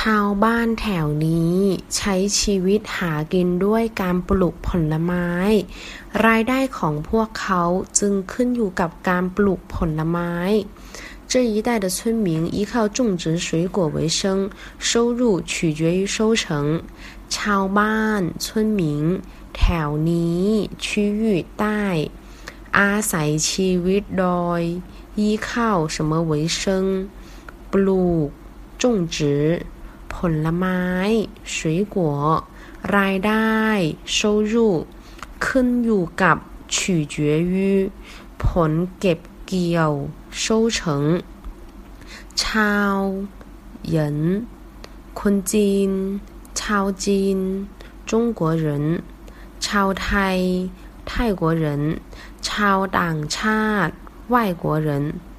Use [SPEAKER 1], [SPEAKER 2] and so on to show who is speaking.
[SPEAKER 1] ชาวบ้านแถวนี้ใช้ชีวิตหากินด้วยการปลูกผลไม้รายได้ของพวกเขาจึงขึ้นอยู่กับการปลูกผลไม้这一带的村民依靠种植水果为生，收入取决于收成。ชาวบ้าน村民แถวนี้区域ใต้อาศัยชีวิตโดย依靠什么为生ปลูก种植ผลไม้水果รายได้收入ขึ้นอยู่กับ取决于ผลเก็บเกี่ยว收成ชาว人คนจีนชาวจีน中国人ชาวไทย泰国人ชาวต่างชาติ外国人